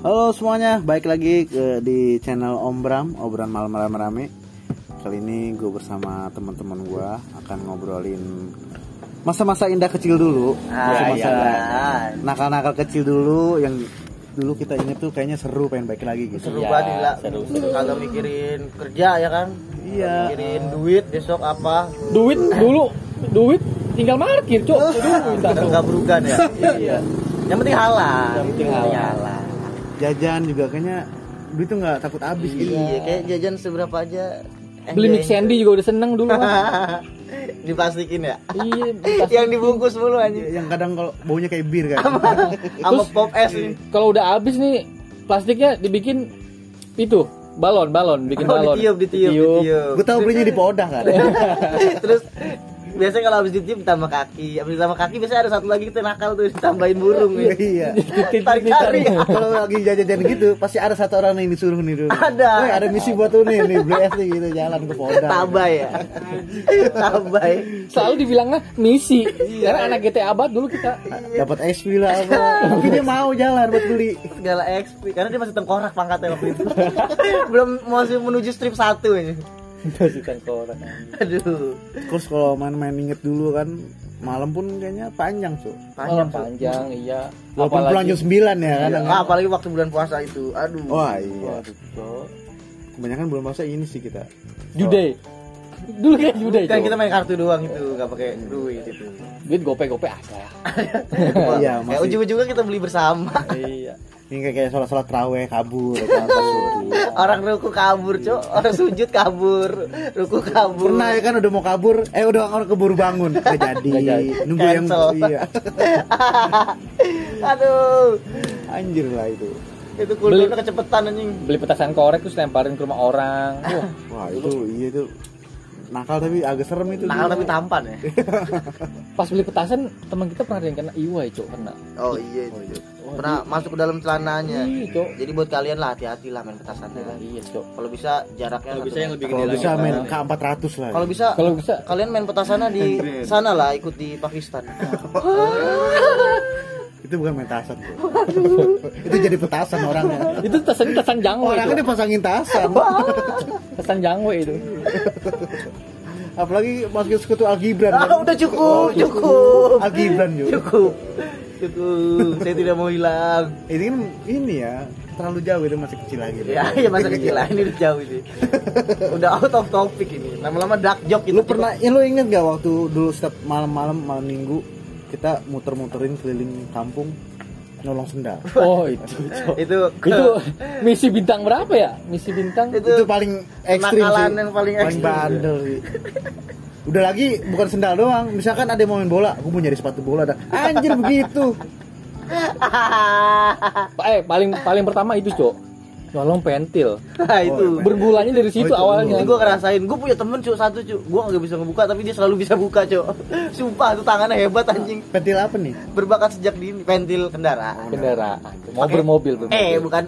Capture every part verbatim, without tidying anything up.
Halo semuanya, balik lagi ke, di channel Om Bram, obrolan malam-malam rame. Kali ini gue bersama teman-teman gue akan ngobrolin masa-masa indah kecil dulu, masa-masa ah, nakal-nakal kecil dulu yang dulu kita inget tuh kayaknya seru, pengen balik lagi gitu. seru Iya, banget lah. seru, seru. Kagak mikirin kerja ya kan? Iya. Mikirin duit besok apa? Duit dulu, duit tinggal parkir, Cok. Duit Enggak berugan ya. Iya. Yang penting halal. Yang penting halal. Jajan juga kayaknya duit tuh nggak takut habis gitu. Iya, kayak jajan seberapa aja. Beli mix Sandy juga udah seneng dulu kan. Diplastikin ya. Iya, Yang dibungkus mulu anjing. Yang kadang kalau baunya kayak bir kan. Sama pop es nih. Kalau udah habis nih plastiknya dibikin itu balon, balon, bikin Oh, balon. ditiup, ditiup, ditiup. Gue tau belinya di Podah kan. Terus biasanya kalau habis ditiup ditambah kaki, habis ditambah kaki biasanya ada satu lagi kita nakal tuh ditambahin burung nih. Iya. Tarik-tarik. Kalau lagi jajan-jajan gitu pasti ada satu orang yang disuruh nih dulu. Ada. Woi, ada misi buat lu nih, nih beli es nih gitu jalan ke Podah. Tabay ya. Tabay. Selalu dibilangnya misi. Karena anak G T A abad dulu kita. Dapat X P lah apa. Tapi dia mau jalan buat beli. Segala X P karena dia masih tengkorak pangkatnya waktu itu. Belum masih menuju strip satu ini. Masih tengkorak. Aduh. Terus kalau main-main inget dulu kan malam pun kayaknya panjang tuh. Panjang, panjang, iya. Walaupun pulang jam sembilan ya kan. Iya, apalagi waktu bulan puasa itu. Aduh. Wah iya. Waduh, Cok. Kebanyakan belum masa ini sih kita. Jude. Dulu kan Jude. Kan Cok. kita main kartu doang itu, enggak pakai duit itu. Duit gope-gope ada. Iya, Kayak masih. ujung-ujungnya kita beli bersama. Iya. Ini kayak kayak sholat-sholat tarawih kabur atau apa suri. Orang ruku kabur, Cok. Orang sujud kabur. Ruku kabur. Pernah ya kan udah mau kabur, eh udah orang keburu bangun. Nggak jadi. Nggak jadi. Nunggu yang Cancel. iya. Aduh. Anjir lah itu. Itu kulturnya kecepetan anjing. Beli petasan korek terus lemparin ke rumah orang. Wah, Wah, itu iya itu nakal tapi agak serem itu. Nakal dulu. tapi tampan ya. pas beli petasan teman kita pernah ada yang kena iwai, Cok, kena. Oh iya itu. Oh, Pernah masuk ke dalam celananya. Iya, Cok. Jadi buat kalian lah hati-hati lah main petasannya. Iya, Cok. Kalau bisa jaraknya Kalau bisa satu yang lebih meter. Kalau gede bisa lagi. main K empat ratus lah. Kalau bisa Kalau bisa kalian main petasannya di sana lah, ikut di Pakistan. itu bukan main tasan tuh. Itu jadi petasan orangnya. itu tasan tasan jangwe Orangnya itu. dipasangin tasan. Tasan jangwe itu. Apalagi masuk sekutu Al Gibran. Ah, udah cukup, cukup. Al Gibran juga. Cukup. Cukup. Saya tidak mau hilang. Ini kan ini ya terlalu jauh, itu masih kecil lagi. Ya, ya masa kecil lah, ini udah jauh ini. Udah out of topic ini. Lama-lama dark joke gitu. Lu pernah, ya lu inget gak waktu dulu setiap malam-malam malam minggu kita muter-muterin keliling kampung nolong sendal. Oh, itu. Cok. itu Itu misi bintang berapa ya? Misi bintang Itu Itu paling ekstrim kenakalan sih. yang paling ekstrim. bandel sih. Udah lagi bukan sendal doang. Misalkan ada yang mau main bola, aku mau nyari sepatu bola dah. Anjir begitu. eh paling paling pertama itu, Cok. Nolong pentil. Nah, itu. Berbulannya dari situ Oh, itu awalnya. Ini gue ngerasain, gue punya temen cuk satu cuk, gue nggak bisa ngebuka tapi dia selalu bisa buka cuk. Sumpah tuh tangannya hebat anjing. Pentil apa nih? Berbakat sejak dini, pentil kendaraan. Kendaraan. Mobil mobil bermobil. Eh bukan.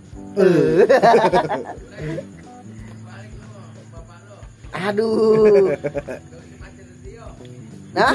Aduh. Nah.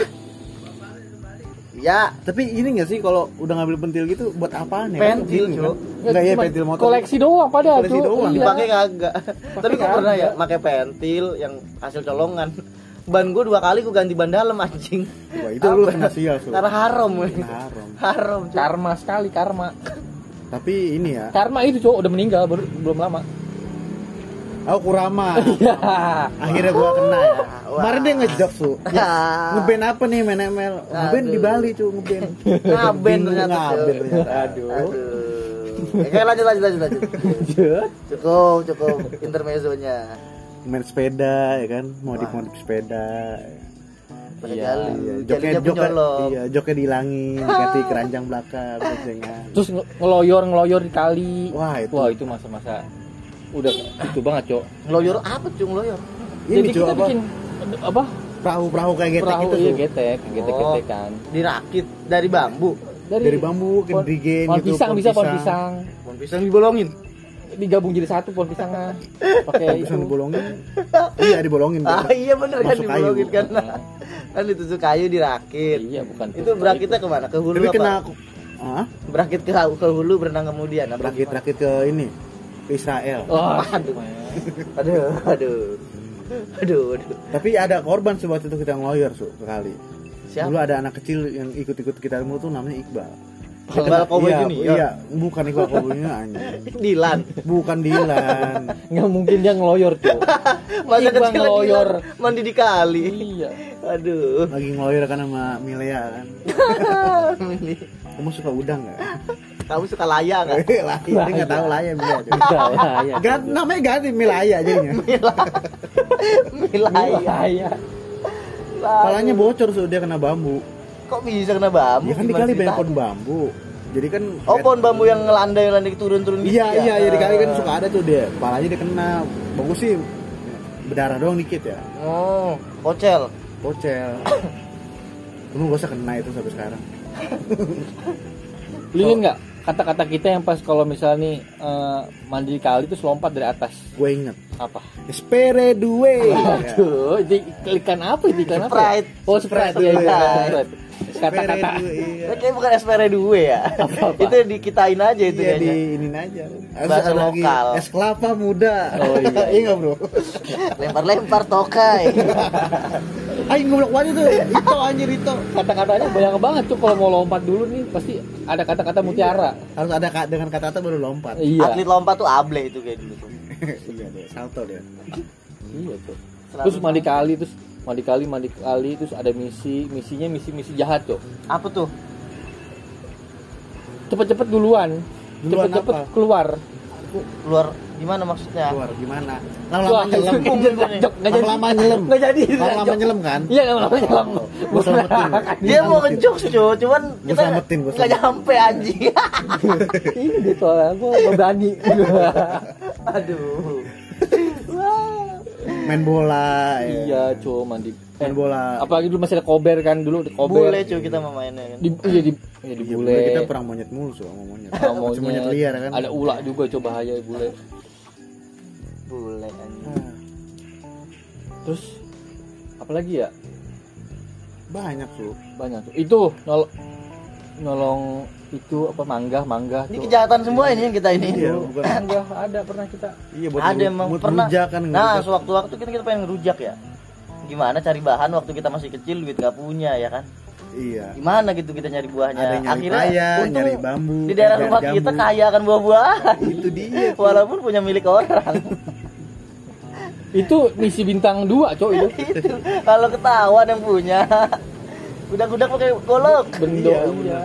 Ya, Tapi ini gak sih kalau udah ngambil pentil gitu buat apaan ya? Pentil, Bingung, Cuk. kan? Enggak ya Cuma pentil motor. koleksi doang padahal, Koleksi Cuk. doang. Iya. dipakai kagak. Tapi gue pernah ya kagak. pakai pentil yang hasil colongan. Ban gue dua kali gue ganti ban dalam anjing. Wah, itu lu kena sial, Cuk. Karena haram. Haram. Haram. Cuk. Karma sekali, karma. Tapi ini ya, Karma itu, Cuk, udah meninggal baru, belum lama. aku Kurama. Ya. Akhirnya gua kena ya. Wah. Kemarin dia ngejok, Su. Ya, ngeband apa nih main M L? Ngeband di Aduh. Bali, Cu, ngeband. Ngaben Bingung, ternyata. ngaben Cuk. ternyata. Aduh. Aduh. Oke, lanjut lanjut lanjut lanjut. Cukup, cukup intermezzonya. Main sepeda ya kan, modif-modif sepeda. Pakai Iya, jalu. Iya, joknya Jadinya joknya, penyolok. iya, joknya dihilangin, ganti keranjang belakang, bocengan. Terus nge- ngeloyor ngeloyor di kali. Wah, itu. Wah, itu masa-masa udah itu banget, Cok. Ngeloyor apa cuy ngeloyor? Ini Jadi Cu, kita apa? bikin apa? Perahu-perahu kayak getek Perahu, itu, iya, Su. getek, getek-getek kan. Dirakit dari bambu. Dari bambu, pohon- kendrigen pohon gitu, pisang pohon bisa pohon pisang. pisang. Pohon pisang dibolongin. Digabung jadi satu pohon pisangnya. Pakai itu. Bisa dibolongin. Iya, dibolongin. Ah iya bener kan Masuk dibolongin kayu. kan. Kan ditusuk kayu dirakit. Iya, bukan. Itu berakitnya kemana? Ke hulu Tapi apa? kena Hah? Berakit ke, ke hulu, berenang kemudian. Apa gimana? Rakit-rakit ke ini, ke Israel. Oh, Aduh. Aduh, aduh. Aduh, aduh. Tapi ada korban sebab itu kita ngeloyor su sekali. Siapa? Dulu ada anak kecil yang ikut-ikut kita dulu tuh namanya Iqbal. Iqbal Cowboy iya, Junior. Iya, bukan Iqbal Cowboy-nya anjing. Dilan. Bukan Dilan. nggak mungkin dia ngeloyor tuh. Masa Iqbal kecil ngeloyor. Dilan mandi di kali. Iya. Aduh. Lagi ngeloyor kan sama Milea kan. Ini. Kamu suka udang enggak? Kamu suka laya nggak? Laya, dia enggak tahu Laya Milea. Iya, iya, iya. Gan, namanya ganti Milaya jadinya. Milaya. Iya. Kepalanya bocor so dia kena bambu. Kok bisa kena bambu? Ya kan di Gimana kali banyak ceritanya? pohon bambu. Jadi kan Oh, pohon bambu yang ngelandai ngelandai turun-turun gitu. Iya, ya? iya, ya di kali kan suka ada tuh dia. Kepalanya dia kena. Bagus sih. Berdarah doang dikit ya. Oh, pocel. Bocel. Kamu gak usah kena itu sampai sekarang. Lu inget nggak kata-kata kita yang pas kalau misalnya nih eh, mandi di kali terus lompat dari atas? Gue inget. Apa? Espere due. Aduh, itu iklan apa? Itu iklan apa? Sprite. Oh, Sprite. Sprite, Iya, iya, iya. Sprite. Kata-kata. Itu kayaknya bukan S P R dua ya. Apa-apa? Itu dikitain aja itu Iya di kayaknya. ini aja. Bahasa Ada lagi lokal. es kelapa muda. Oh, iya. Iya nggak bro? Lempar-lempar tokai. Ayo ngoblok banget tuh. Itu anjir itu. Kata-katanya banyak banget tuh kalau mau lompat dulu nih pasti ada kata-kata mutiara. Harus ada ka- dengan kata-kata baru lompat. Iya. Atlet lompat tuh able itu kayak dulu tuh. Iya deh, salto deh. Iya tuh. Terus mandi kali terus mandi kali mandi kali terus ada misi misinya misi misi jahat tuh. Apa tuh? Cepet-cepet duluan. Duluan Cepet-cepet apa? keluar. Keluar gimana maksudnya? Keluar gimana? Wah, Lama-lama nyelam. nggak jadi, nggak jadi. Lama-lama nyelam. Nggak jadi. Lama-lama nyelam kan? Iya, lama-lama nyelam. Gua selamatin. Dia mau ngejokes cuy, cuman Gua kita selamatin, gua nggak selamatin. nyampe anjing. Ini deh soalnya gua nggak berani. Aduh. Main bola. ya. Iya, cuy mandi. Main bola. Apalagi dulu masih ada kober kan dulu di kober. Bule cuy kita mau mainnya kan. Di iya di iya di Iya, bule. kita perang monyet mulu so, sama monyet. Sama Masih monyet liar kan. Ada ular juga coba bahaya bule. Bule anjing. Ah, Terus apalagi ya? banyak tuh. Banyak tuh. Itu nol nolong itu apa mangga mangga Ini tuh. kejahatan semua ini yang kita ini. Iya, bukan. Mangga ada pernah kita. Iya buat Ada ngeru- emang buat pernah. ngerujak kan. Nah, ngerujak. sewaktu-waktu kita kita pengen ngerujak ya. Gimana cari bahan waktu kita masih kecil duit gak punya ya kan? Iya. Gimana gitu kita nyari buahnya? Ada yang nyari paya, untung nyari bambu, di daerah nyari rumah jambu. kita kaya akan buah-buahan. Itu dia. Walaupun punya milik orang. Itu misi bintang dua, Cok itu. Itu kalau ketahuan yang punya. Udah-udah pakai golok. Bendo Iya, iya.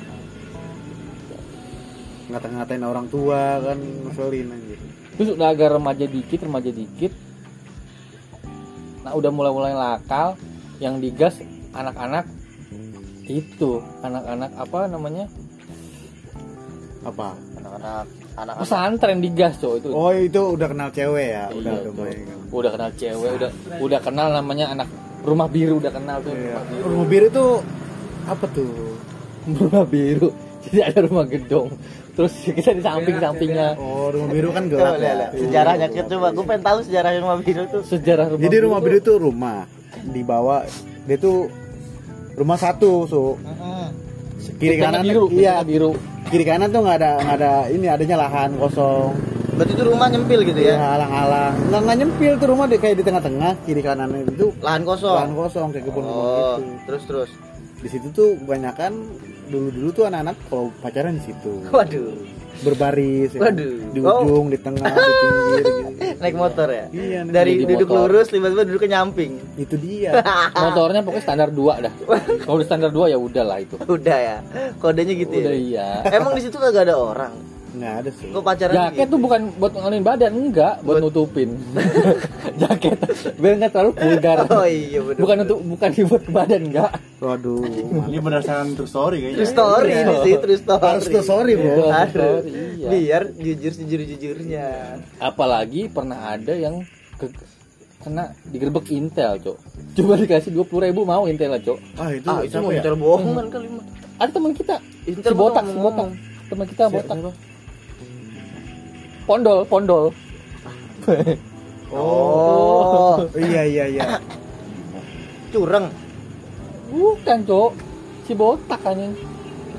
Ngata-ngatain orang tua kan ngeselin anjir. Terus udah agak remaja dikit, remaja dikit. Nah, udah mulai-mulai nakal yang digas anak-anak itu, anak-anak apa namanya? Apa? Anak-anak anak-anak Pesantren digas, Cok itu. Oh, itu udah kenal cewek ya. Udah Iya, udah Cok. mulai kan. Udah kenal cewek, udah udah kenal namanya anak rumah biru udah kenal tuh. Iya. Rumah biru. Rumah biru itu apa tuh? Rumah biru. Jadi ada rumah gedong. Terus kita di samping-sampingnya. Oh, rumah biru kan Coba gelap lihat, ya. lihat. Sejarahnya kita coba, gue pengen tahu sejarah rumah biru tuh. Sejarah rumah Jadi rumah biru tuh- itu rumah di bawah dia tuh rumah satu, so Mm-mm. kiri Bentengnya kanan biru, iya bentengnya biru. kiri kanan tuh nggak ada nggak ada ini adanya lahan kosong. Berarti itu rumah nyempil gitu Ya, ya? halang-halang. Nggak nggak nyempil tuh rumah deh kayak di tengah-tengah kiri kanan itu Lahan kosong. lahan kosong kayak kebun kebun Oh, gitu. terus terus. Di situ tuh kebanyakan dulu-dulu tuh anak-anak kalau pacaran di situ. Waduh, Berbaris ya. Waduh. Di ujung, di tengah, di pinggir gitu. naik motor ya? Iya, naik Dari di duduk motor. lurus tiba-tiba duduk ke nyamping. Itu dia. Motornya pokoknya standar dua dah. Kalau udah standar dua ya udah lah itu. Udah ya. Kodenya gitu Udah ya. iya. Emang di situ kagak ada orang. Nggak ada sih. Kok pacaran Jaket gitu? tuh bukan buat ngalahin badan, enggak, buat, Buat- nutupin. Jaket biar nggak terlalu vulgar. Oh iya bener. Bukan untuk bukan dibuat ke badan, enggak. Waduh. Ini berdasarkan true story kayaknya. True story Iya. ini sih, true story. Harus tuh sorry, Bro. Iya. Harus. Story, iya. Biar jujur sejujur jujurnya. Apalagi pernah ada yang ke, kena digerebek Intel, Cok. Coba dikasih dua puluh ribu mau Intel lah, Cok. Ah, itu Ah itu siapa mau ya? Intel bohongan kali mah. Ada teman kita, Intel si botak, si bohong. botak. Teman kita Siapa? botak. Pondol, pondol. Oh, Iya, iya, iya. curang. Bukan, Cok. Si botak kan yang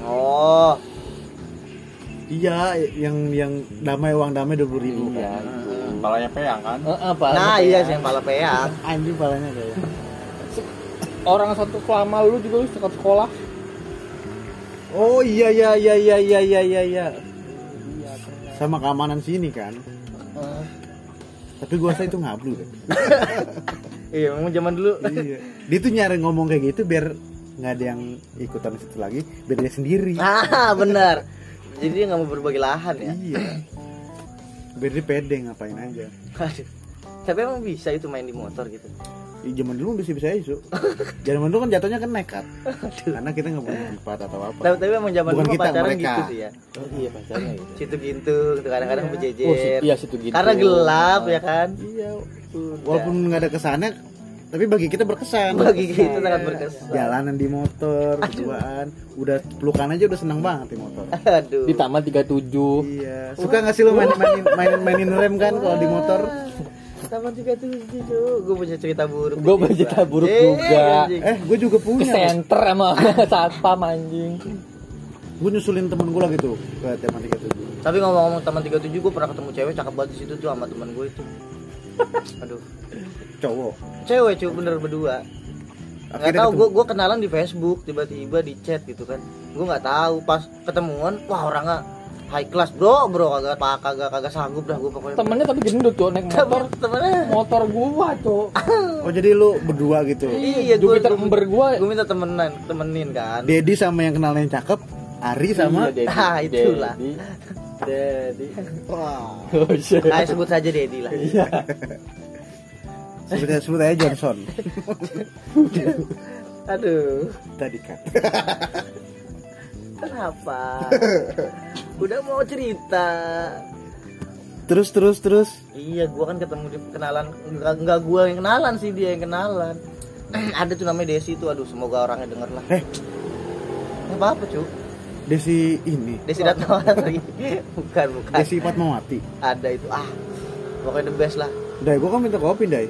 Oh, Iya, yang yang damai uang damai dua puluh ribu Iya. kan. Hmm, palanya peyang kan. Heeh, Pak. nah iya sih yang pala peang. Anjing palanya kayak. Orang satu kelama lu juga lu sekat sekolah. Oh iya iya iya iya iya iya iya. iya. Sama keamanan sini kan. Heeh. Tapi gua rasa itu ngablu deh. Iya, memang zaman dulu. Iya. Dia tuh nyari ngomong kayak gitu biar nggak ada yang ikutan di situ lagi, biar dia sendiri. Ah, benar. Jadi dia nggak mau berbagi lahan ya. Iya. Biar dia pede ngapain aja. Aduh. Tapi emang bisa itu main di motor gitu. Ih, zaman dulu bisa-bisa aja, Su. Zaman dulu kan jatuhnya kan nekat. Karena kita nggak punya tempat atau apa. Tapi, tapi emang zaman Bukan dulu kita, pacaran mereka. gitu sih ya. Oh iya pacarnya gitu. Situ gintung, tuh kadang-kadang Oh, si- berjejer. iya situ gitu. Karena gelap ya kan. Iya. Walaupun nggak ada kesannya, tapi bagi kita berkesan. Bagi kita sangat berkesan. Jalanan di motor, berduaan, udah pelukan aja udah seneng banget di motor. Aduh. Di Taman tiga puluh tujuh. Iya. Suka nggak sih lo mainin mainin mainin, mainin rem kan kalau di motor? Taman tiga puluh tujuh. Gue punya cerita buruk. Gue punya cerita buruk Anjing, juga. anjing. Eh, gue juga Ke punya. center sama satpam anjing. Gue nyusulin temen gue lagi tuh ke Taman tiga puluh tujuh. Tapi ngomong-ngomong Taman tiga puluh tujuh, gue pernah ketemu cewek cakep banget di situ tuh sama teman gue itu. Aduh. Cowok. Cewek cuy bener berdua. Nggak Akhirnya tahu, ketemu. gue gue kenalan di Facebook, tiba-tiba di chat gitu kan. Gue nggak tahu, pas ketemuan, wah orangnya high class bro, bro kagak pak kagak kagak sanggup dah gue pokoknya. Temennya tapi gendut tuh naik motor. Temennya. Motor gua tuh. Oh jadi lu berdua gitu. Iya, gue Jupiter Ember gua. gue minta temenan, temenin kan. Dedi sama yang kenalnya yang cakep, Ari sama. Iya, Dedi. Ah, itulah. Dedi. Dedi. Wah. Oh shit. Ayo sebut saja Dedi lah. Iya. Sebut aja, sebut aja Johnson. Aduh, Tadi kan. kenapa? Udah mau cerita. Terus terus terus. Iya, gua kan ketemu di kenalan, enggak enggak gua yang kenalan sih, dia yang kenalan. Ada tuh namanya Desi tuh, aduh semoga orangnya denger lah. Eh, Enggak apa-apa, cu. Desi ini. Desi Datmawati. Bukan, bukan. Desi Fatmawati. Ada itu. Ah. Pokoknya the best lah. Dai, gua kan minta kopi, Dai.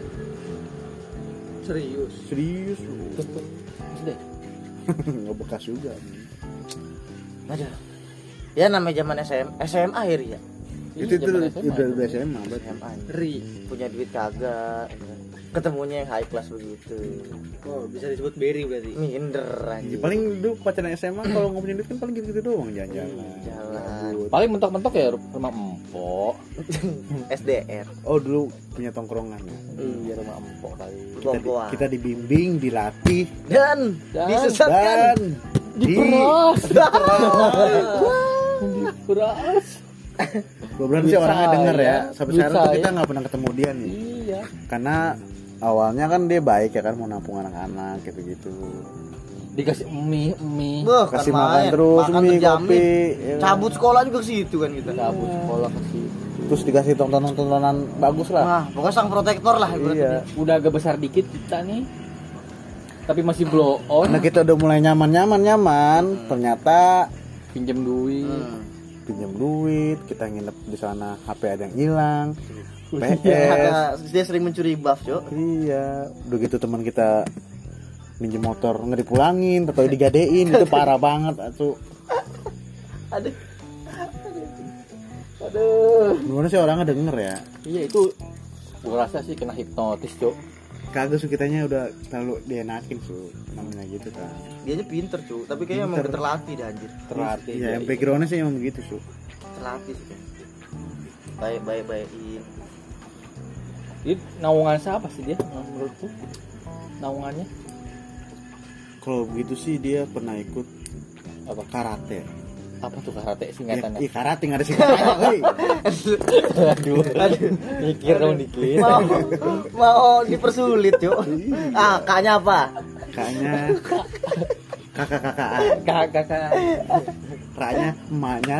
Serius. Serius. Deh. Nggak bekas juga. Ada. Ya namanya zaman S M S M A akhir ya. Itu itu zaman udah S M A. udah S M A berarti. S M A. Ri, punya duit kagak. Ketemunya yang high class begitu. Oh, bisa disebut Berry berarti. Minder Ya, anjing. paling dulu pacaran S M A kalau nggak punya duit kan paling gitu-gitu doang jalan-jalan. Jalan. Paling mentok-mentok ya rumah empok. S D R. Oh dulu punya tongkrongan ya. Iya rumah empok kali. Kita, di- Bongkoan. kita dibimbing, dilatih Dan, Dan- disesatkan. dan Diperas. Diperas. Gue berarti Duit orangnya saya, denger ya. Sampai duit sekarang tuh saya. kita nggak pernah ketemu dia nih. Iya. Karena awalnya kan dia baik ya kan mau nampung anak-anak gitu-gitu. Dikasih mie mie. Wah, kan Kasih makan main. terus, Makan mie, terjamin. kopi, ya kan? Cabut sekolah juga ke situ kan kita. Cabut sekolah ke situ. Terus dikasih tontonan-tontonan bagus lah. Nah, pokoknya sang protektor lah ibaratnya. Iya. Udah agak besar dikit kita nih. Tapi masih blow on. Karena kita udah mulai nyaman-nyaman nyaman, ternyata Pinjam duit. Hmm. pinjam duit, kita nginep di sana, H P ada yang hilang, P S. Karena dia sering mencuri buff, Cok. Iya, udah gitu teman kita minjem motor nggak dipulangin, atau digadein, itu parah banget, atuh. Aduh. Aduh. Gimana sih orangnya denger ya? Iya itu gua rasa sih kena hipnotis, Cok. Kagak su kitanya udah terlalu dienakin su, namanya gitu kan. Dia aja pinter, Cuk, tapi kayaknya emang Pinter. terlatih dah anjir. Terlatih. Iya, yang backgroundnya sih emang begitu su. Terlatih sih. Baik, baik, baikin. Jadi naungan siapa sih dia menurutku? Naungannya Kalau begitu sih dia pernah ikut apa? karate. Apa tuh karate Ya, singkatannya? iya karate nggak ada singkatannya, woi. Aduh, aduh, mikir dong dikit. Mau mau dipersulit, Cuk. Ah, kaknya apa? Kakaknya kakak-kakakan, Kakak kakak. raknya emaknya.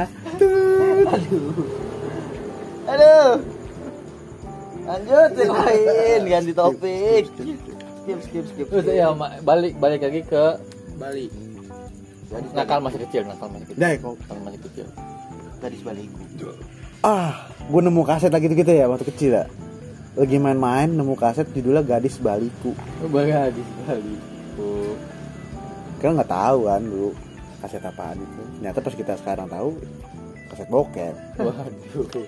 Aduh. Lanjut yang lain, ganti topik. Skip, skip, skip. Terus ya ma- balik balik lagi ke Bali. Gadis nakal masih kecil, nakal masih kecil. Dai kok. Nakal masih kecil. Gadis baliku. Ah, gue nemu kaset lagi gitu ya waktu kecil ya. Lagi main-main nemu kaset judulnya Gadis Baliku. Bagi habis balik. Oh. Kan nggak tahu kan dulu. kaset apaan itu. Ternyata pas kita sekarang tahu kaset bokep. Waduh.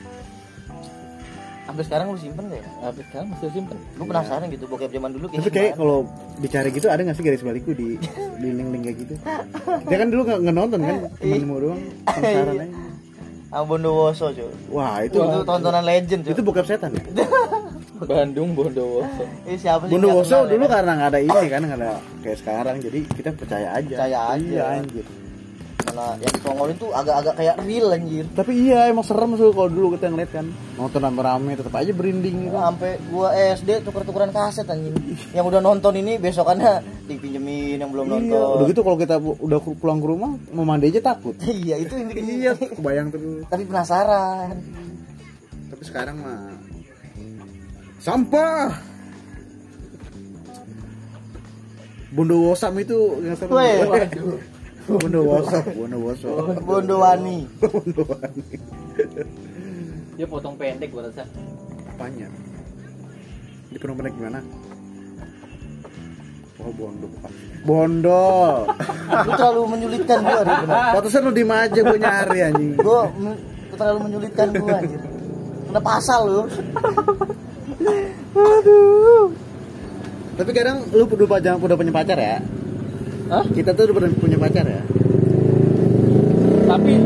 Sampai sekarang lu simpen gak ya? Tapi sekarang masih simpen. Gue penasaran gitu bokep zaman dulu Tapi kayak kalau bicara gitu ada nggak sih garis balikku di di link-link kayak gitu? Dia kan dulu nggak nonton kan, cuma mau doang penasaran aja. Ah Bondowoso cuy. Wah itu Itu tontonan legend cuy. itu bokep setan ya. Bandung Bondowoso. Eh siapa sih? Bondowoso nggak kenal, dulu ya? karena nggak ada ini kan, nggak ada kayak sekarang, jadi kita percaya aja. Percaya aja. Iya anjir. Malah yang tongolin tuh agak-agak kayak real anjir. Tapi iya emang serem tuh kalau dulu kita ngeliat kan, nonton rame-rame tetap aja berinding gitu. Sampai gua S D tuker-tukeran kaset anjing. Yang udah nonton ini besokannya dipinjemin yang belum Iya, nonton. udah gitu kalau kita udah pulang ke rumah mau mandi aja takut. Iya, itu yang bikin Iya, kebayang terus. tapi penasaran. Tapi sekarang mah sampah. Bondowosam itu yang serem. Weh. Bondowoso, Bondowoso. Bondowani. Bondowani. Dia potong pendek gua rasa. Apanya? Di penuh pendek gimana? Oh, bondo bukan. Bondol. Lu terlalu menyulitkan gua hari benar. Pantesan lu diem aja gua nyari anjing. Gua men- terlalu menyulitkan gua anjir. Kena pasal lu. Tapi kadang lu udah pacar, udah punya pacar ya? Hah? Kita tuh udah punya pacar ya? Tapi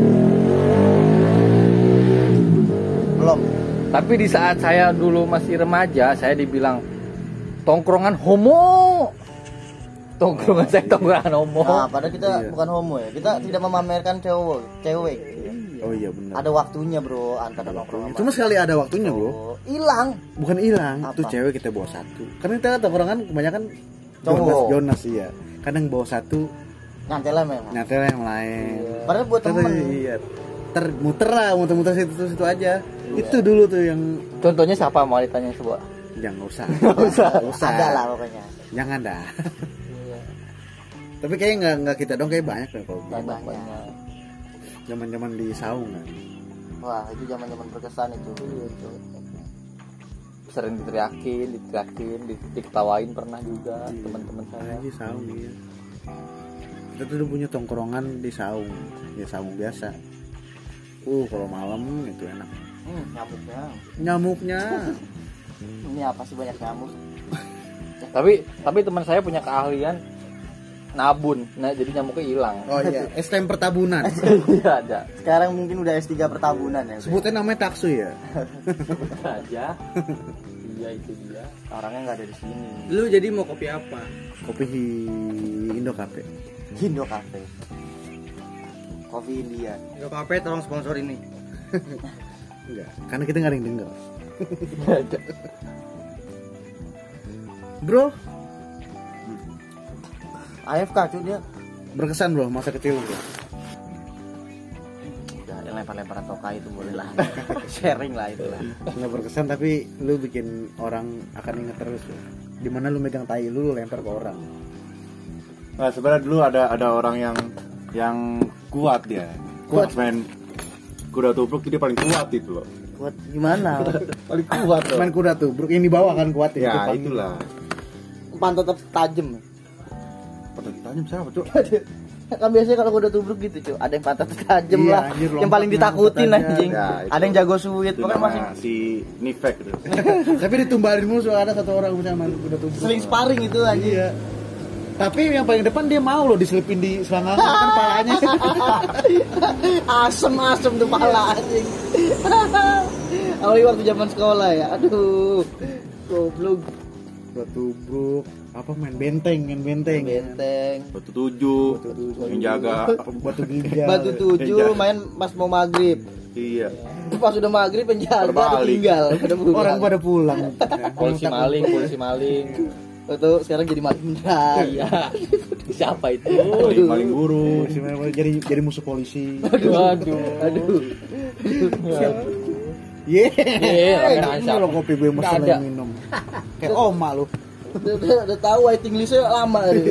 Belum. tapi di saat saya dulu masih remaja, saya dibilang tongkrongan homo. Tongkrongan saya tongkrongan homo. Nah, padahal kita Iya. bukan homo ya. Kita tidak memamerkan cowok, cewek. Oh iya benar. Ada waktunya, Bro, antara nongkrong. Cuma sekali ada waktunya, Bro. Oh, hilang. Bukan hilang, Apa? tuh cewek kita bawa satu. Karena kita tongkrongan kebanyakan Cowok. Jonas, Jonas iya. Kadang bawa satu, Nyantelnya memang. nyatel yang lain. Padahal buat Ter- temen. Iya. Ter muter lah, muter-muter situ situ aja. Itu dulu tuh yang Contohnya siapa mau ditanya sebuah? jangan usah. Nggak usah. usah. Ada lah pokoknya. Jangan dah. Tapi kayaknya nggak nggak kita dong, kayak banyak deh kalau Banyak. Banyak. zaman-zaman di saung kan. Wah, itu zaman-zaman berkesan itu. Sering diteriakin, diteriakin, di- diketawain pernah juga Iya. teman-teman saya. Lagi saung iya. Kita tuh udah punya tongkrongan di saung, ya saung biasa. Uh, kalau malam itu enak. Hmm, nyamuknya. Nyamuknya. Ini apa sih banyak nyamuk? Tapi tapi teman saya punya keahlian nabun. Nah, jadi nyamuknya hilang. Oh iya, S T M pertabunan. Iya ada. Sekarang mungkin udah S tiga pertabunan ya. Sebutnya namanya taksu ya. Aja. Iya itu dia. Orangnya nggak ada di sini. Lu jadi mau kopi apa? Kopi Indo Cafe. Indo Cafe. Kopi India. Yo kafe tolong sponsor ini. Enggak, karena kita nggak ada yang denger. Ada. Bro, A F K cuy dia. berkesan bro masa kecil bro. Udah ada lempar-lemparan tokai itu boleh lah. Sharing lah itu lah. Nggak berkesan tapi lu bikin orang akan inget terus bro. Dimana lu megang tai lu, lu lempar ke orang. Nah, sebenarnya dulu ada ada orang yang yang kuat dia. Kuat. Pas main kuda tubruk dia paling kuat itu loh. Buat gimana? Paling kuat loh. Main kuda tuh, bro yang di bawah kan kuat Ya, Jepang. itulah. Pantat tetap tajam. Pantat tajam siapa, Cuk? Kan biasanya kalau kuda tubruk gitu cuy, ada yang pantat tajam Iya, lah, anjir, yang paling lompatnya ditakutin lompat aja. anjing. Ya, itu. Ada yang jago suit, Itu pokoknya nama masih si Nifek gitu. Tapi ditumbalin mulu soalnya ada satu orang bisa main kuda tubruk. seling sparring itu anjing. Iya. Tapi yang paling depan dia mau loh diselipin di selangkangan kan palanya. Asem-asem tuh pala anjing. Awalnya waktu zaman sekolah ya, aduh, goblok. Kuda tubruk, apa main benteng, main benteng. Benteng. Batu tujuh, yang jaga. Batu ginjal. Batu tujuh main pas mau maghrib. Iya. Pas udah maghrib penjaga Pada balik. tinggal pada pulang. Orang pada pulang. Polisi maling, polisi maling. Itu sekarang jadi maling beneran. Iya. Siapa itu? Paling paling guru. Polisi main- jadi jadi musuh polisi. Aduh, aduh. Aduh. Ye. Iya, Ini lo kopi gue Nggak masalah ada. yang minum. Kayak oma lu. Udah, udah, udah tahu waiting listnya lama deh.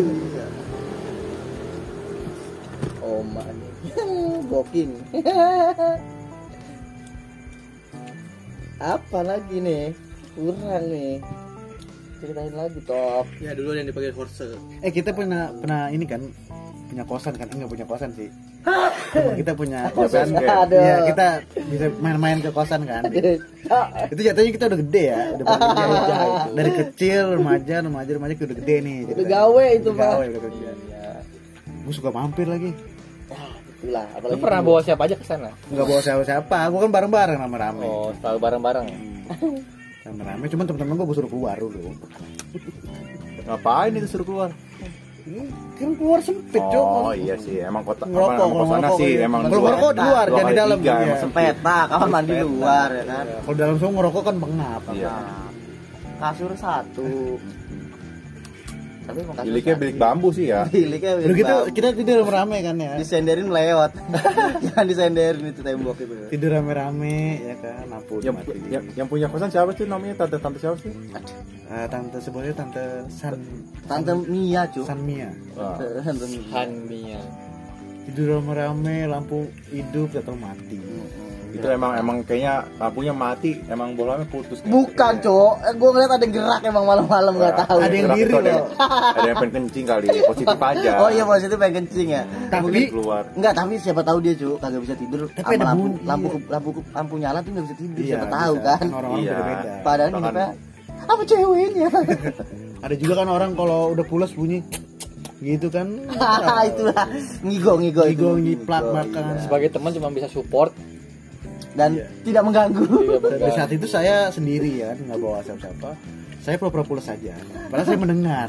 Oh man, booking. Apa lagi nih? Kurang nih. Ceritain lagi top. Ya dulu yang dipakai horse. Eh kita pernah pernah ini kan punya kosan kan, enggak punya kosan sih. Temen kita punya kosan. Aduh. Iya, kita bisa main-main ke kosan kan. Itu jatuhnya kita udah gede ya, udah bekerja aja gitu. Dari kecil remaja, remaja, remaja udah gede nih. Udah gawe itu, Udah Pak. gawe, udah kerja. Gue suka mampir lagi. Itulah, Lu apalagi pernah bawa siapa aja ke sana? Enggak bawa siapa-siapa, gue kan bareng-bareng rame-rame. Oh, selalu bareng-bareng. Rame-rame, cuman teman-teman gue suruh keluar dulu. Ngapain itu suruh keluar? Kan keluar sempit, Cok. Oh iya sih, emang kota Ngerokok, emang kalau kosannya ngerokok sih iya. emang Kalau dua- ngerokok di luar, dua jangan di kali dalam. tiga, Iya. emang sempet nah, kamar mandi luar ya kan. Kalau dalam semua ngerokok kan pengap. Iya. Kasur satu. Tapi emang kasur Biliknya satu. bilik bambu sih ya. Biliknya bilik Udah gitu bambu. kita tidur rame kan ya. Disenderin melewat. Jangan disenderin itu tembok itu. Tidur rame-rame ya kan, lampu Yang, dimatiin. yang, yang punya kosan siapa sih namanya? Tante-tante siapa sih? Eh, tante sebutnya tante San Tante Mia, cu. San Mia. Wah. Tante Mia. Hanmia. Tidur rame-rame, lampu hidup atau mati. Itu emang emang kayaknya lampunya mati, emang bolanya putus. Bukan, Cok. Eh, gue ngeliat ada yang gerak emang malam-malam enggak tahu. Ada yang Gerak diri itu ada, loh. ada yang pengen kencing kali, positif aja. Oh iya, positif pengen kencing ya. Tapi keluar. Enggak, tapi siapa tahu dia, Cuk, kagak bisa tidur. Tapi sama ada lampu, bunyi. lampu lampu lampu nyala tuh enggak bisa tidur, Iya, siapa tahu bisa. kan. Orang-orang Iya. beda-beda. Padahal Bahkan- ngidupnya apa ceweknya? Ada juga kan orang kalau udah pulas bunyi gitu kan. Itulah ngigo ngigo itu. Ngigo, nyiplak, Ngigo, makan. iya. Sebagai teman cuma bisa support. Dan Iya. tidak mengganggu. Tidak Dan di saat itu saya sendiri ya, nggak bawa siapa-siapa. Saya pura-pura pulas saja. Padahal saya mendengar.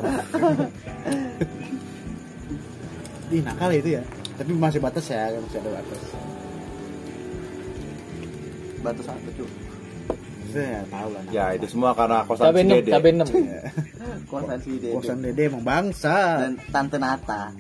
Ih, nakal itu ya. Tapi masih batas ya, masih ada batas. Batu satu, Cuk. Saya tahu lah. Ya itu semua karena kosan Cabe si enam, Dede. cabe enam. Kosan si Dede. Kosan Dede emang bangsa. Dan Tante Nata.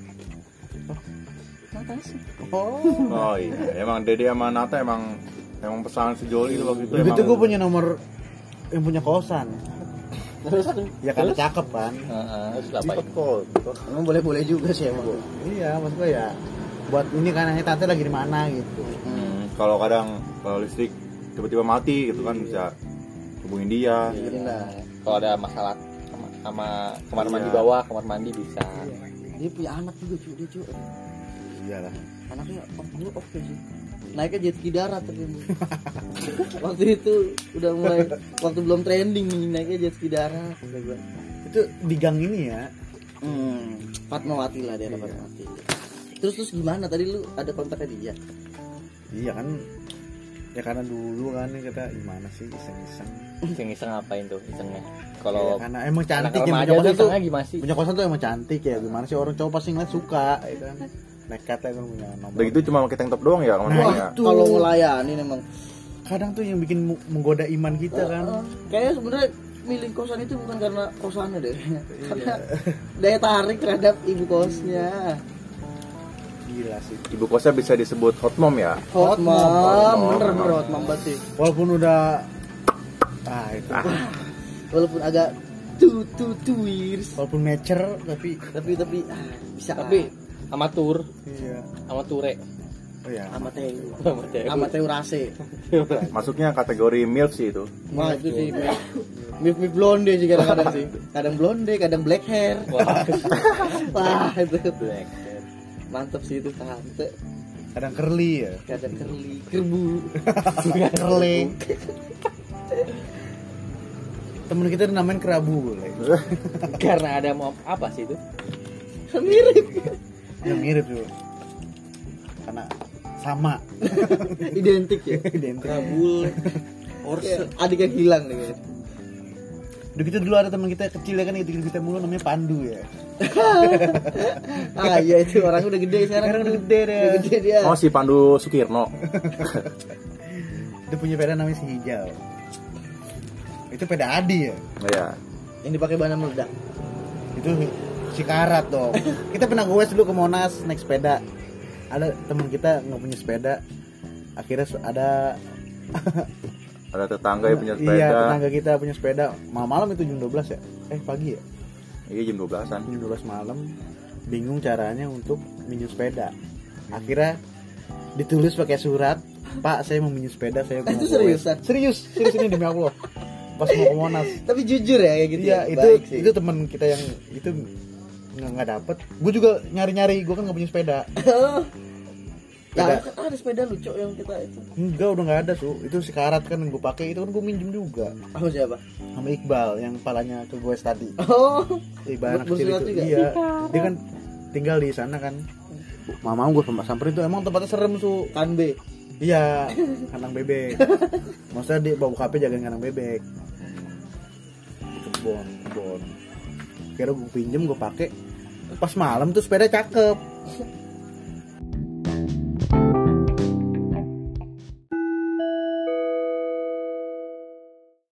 Nata sih. Oh. Oh iya, emang Dede sama Nata emang emang pesangan sejoli itu waktu itu. Begitu emang- gue punya nomor yang punya kosan. Terus tuh. Ya karena cakep kan. Heeh, terus apa? Cepet kok. Emang boleh-boleh juga sih emang. Iya, maksud gue ya buat ini kan hanya tante lagi di mana gitu. Hmm, kalau kadang kalau listrik tiba-tiba mati gitu kan bisa hubungin dia. Dengerin lah. Kalau ada masalah sama, sama kamar mandi Iya. bawah, kamar mandi bisa. Dia punya anak juga, Cuk, dia, Cuk. Iyalah. Anaknya oh, dulu oke sih. Naiknya jet ski darat tadi. Waktu itu udah mulai waktu belum trending nih naiknya jet ski darat. Itu di gang ini ya. Hmm, Fatmawati lah dia, Iya. Fatmawati. Terus terus gimana tadi lu ada kontaknya dia? Iya kan. Ya karena dulu kan kita gimana sih iseng-iseng. Iseng-iseng ngapain tuh isengnya? Ya, Kalau karena emang anak cantik ya remaja punya tuh kosan tuh. isengnya gimana sih? Punya kosan tuh emang cantik ya. Gimana sih orang cowok pasti ngeliat suka ya kan. Nekat ya kan punya nomor. Udah gitu cuma pakai tank top doang ya Nah, kemana-mana. itu. Kalau ngelayanin emang Kadang tuh yang bikin mu- menggoda iman kita kan. Uh, kayaknya sebenarnya milih kosan itu bukan karena kosannya deh. Karena daya tarik terhadap ibu kosnya. Gila sih. Ibu kosnya bisa disebut hot mom ya. Hot Hot mom, mom. bener bener hot mom banget sih. Walaupun udah ah itu. Walaupun agak two two two years, Walaupun mature tapi tapi tapi ah, bisa Tapi amatur, iya. amature. Oh ya. amateu, Amateur. amateu rase. Masuknya kategori milf sih itu. Wah itu sih mif mif blonde sih kadang-kadang sih. Kadang blonde, kadang black hair. Wah, Wah itu black. mantep sih itu tante. Kadang curly ya. Kadang curly, kerbu. Kerling. Temen kita namain kerabu boleh. Karena ada mau apa sih itu? Mirip. Ya mirip tuh. Karena sama. Identik ya. Identik. Kabul. Orse. Adik yang hilang nih kayaknya. Udah gitu dulu ada teman kita kecil ya kan itu kita mulu namanya Pandu ya. Ah iya itu orang udah gede sekarang. Sekarang udah gede deh. Udah gede dia. Oh si Pandu Sukirno. Dia punya peda namanya si Hijau. Itu peda Adi ya. Oh ya. Yang dipakai bahan meledak. Itu si karat dong. Kita pernah goes dulu ke Monas naik sepeda. Ada teman kita nggak punya sepeda. Akhirnya su- ada Ada tetangga yang punya sepeda. Iya, tetangga kita punya sepeda. Malam-malam itu jam dua belas ya? Eh, pagi ya? Iya jam dua belasan. Jam dua belas malam. Bingung caranya untuk minjem sepeda. Akhirnya ditulis pakai surat, "Pak, saya mau minjem sepeda, saya mau Itu goes." seriusan? Serius, serius ini demi Allah. Pas mau ke Monas. Tapi jujur ya kayak gitu. Iya, ya? itu Baik sih. itu teman kita yang itu nggak nggak dapet. Gue juga nyari-nyari, gue kan nggak punya sepeda. Ya Ada. kan ada sepeda lucu yang kita itu. Enggak, udah nggak ada su. Itu si Karat kan yang gue pakai, itu kan gue minjem juga Apa siapa? sama Iqbal yang palanya ke gue tadi. Oh. Iqbal anak Ber- kecil bersilat itu. juga? Iya. Dia kan tinggal di sana kan. Mama gue samperin tuh emang tempatnya serem su. Kan B. Iya, kandang bebek. Maksudnya dia bawa K P jagain kandang bebek. Kebon, kebon. Kira gue pinjem, gue pakai. Pas malam tuh sepeda cakep.